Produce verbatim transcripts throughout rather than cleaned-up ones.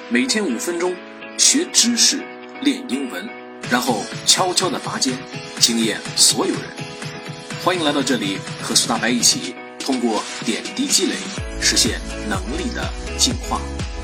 每天五分钟，学知识，练英文，然后悄悄地拔尖，惊艳所有人。欢迎来到这里，和苏大白一起通过点滴积累，实现能力的进化。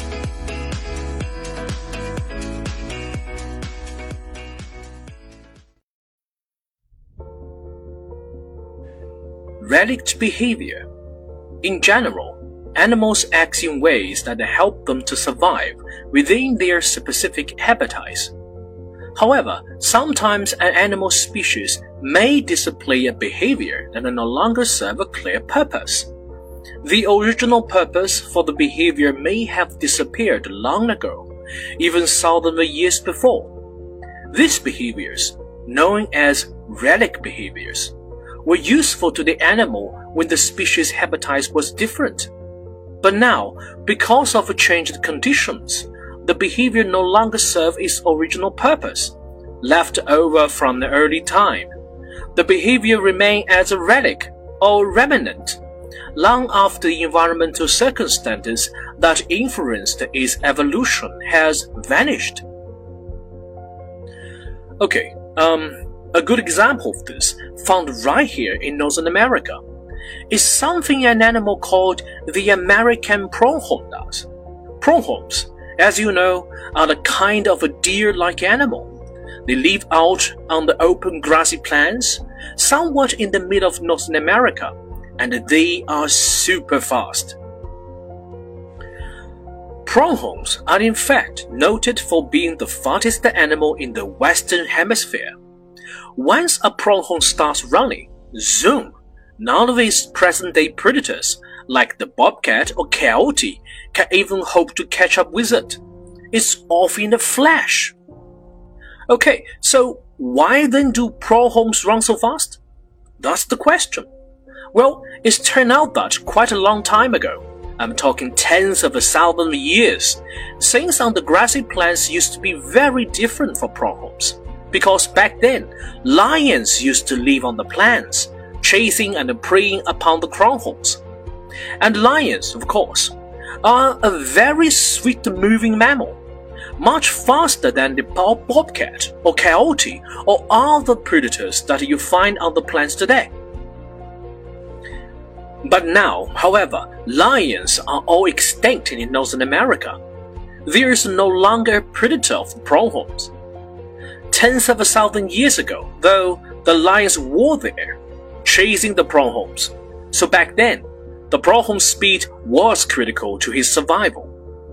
Relict behavior. In general, animals act in ways that help them to survive within their specific habitats. However, sometimes an animal species may display a behavior that no longer serve a clear purpose. The original purpose for the behavior may have disappeared long ago, even thousands of years before. These behaviors, known as relic behaviors, were useful to the animal when the species' habitat was different. But now, because of changed conditions, the behavior no longer serves its original purpose, left over from the early time. The behavior remains as a relic or remnant, long after the environmental circumstances that influenced its evolution has vanished. Okay, um, a good example of this, found right here in Northern America, is something an animal called the American pronghorn does. Pronghorns, as you know, are the kind of a deer-like animal. They live out on the open grassy plains, somewhat in the middle of Northern America, and they are super fast. Pronghorns are in fact noted for being the fastest animal in the Western Hemisphere. Once a pronghorn starts running, zoom, none of its present-day predators, like the bobcat or coyote, can even hope to catch up with it. It's off in a flash. Okay, so why then do pronghorns run so fast? That's the question. Well, it's turned out that quite a long time ago, I'm talking tens of thousands of years, things on the grassy plains used to be very different for pronghorns. Because back then, lions used to live on the plains, chasing and preying upon the pronghorns. And lions, of course, are a very swift-moving mammal, much faster than the bobcat or coyote or other predators that you find on the plains today. But now, however, lions are all extinct in Northern America. There is no longer a predator of the pronghorns. Tens of a thousand years ago, though, the lions were there, chasing the pronghorns. So back then, the pronghorn's speed was critical to his survival.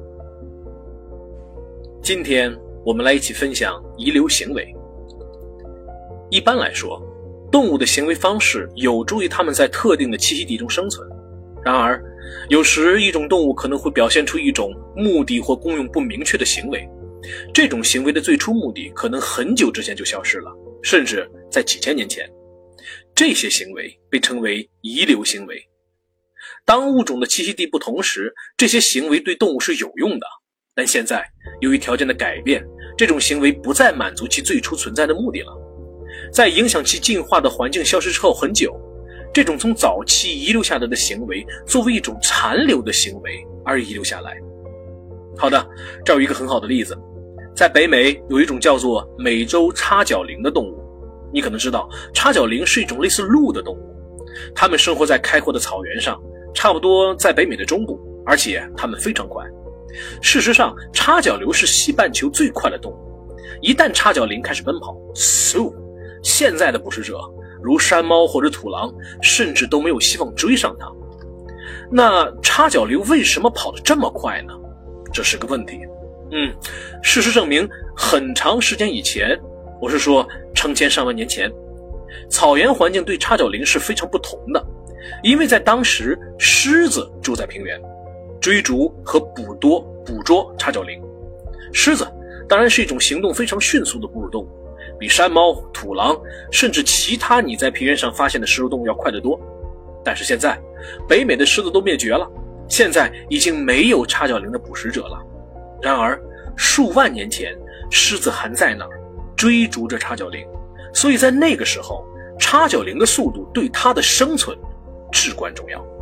今天我们来一起分享遗留行为。一般来说，动物的行为方式有助于它们在特定的栖息地中生存。然而，有时一种动物可能会表现出一种目的或功用不明确的行为。这种行为的最初目的可能很久之前就消失了，甚至在几千年前。这些行为被称为遗留行为。当物种的栖息地不同时，这些行为对动物是有用的。但现在，由于条件的改变，这种行为不再满足其最初存在的目的了。在影响其进化的环境消失之后很久，这种从早期遗留下来的行为，作为一种残留的行为而遗留下来。好的，这有一个很好的例子。在北美有一种叫做美洲叉角羚的动物，你可能知道叉角羚是一种类似鹿的动物，它们生活在开阔的草原上，差不多在北美的中部，而且它们非常快。事实上，叉角羚是西半球最快的动物，一旦叉角羚开始奔跑，嗖，现在的捕食者如山猫或者土狼甚至都没有希望追上它。那叉角羚为什么跑得这么快呢？这是个问题。嗯，事实证明，很长时间以前，我是说成千上万年前，草原环境对叉角羚是非常不同的，因为在当时，狮子住在平原，追逐和捕捉捕捉叉角羚。狮子当然是一种行动非常迅速的哺乳动物，比山猫、土狼甚至其他你在平原上发现的食肉动物要快得多。但是现在，北美的狮子都灭绝了，现在已经没有叉角羚的捕食者了。然而，数万年前，狮子还在那儿追逐着叉角羚，所以在那个时候，叉角羚的速度对它的生存至关重要。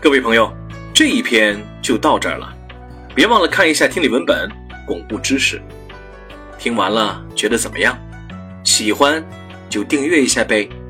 各位朋友，这一篇就到这儿了，别忘了看一下听力文本，巩固知识。听完了觉得怎么样？喜欢就订阅一下呗。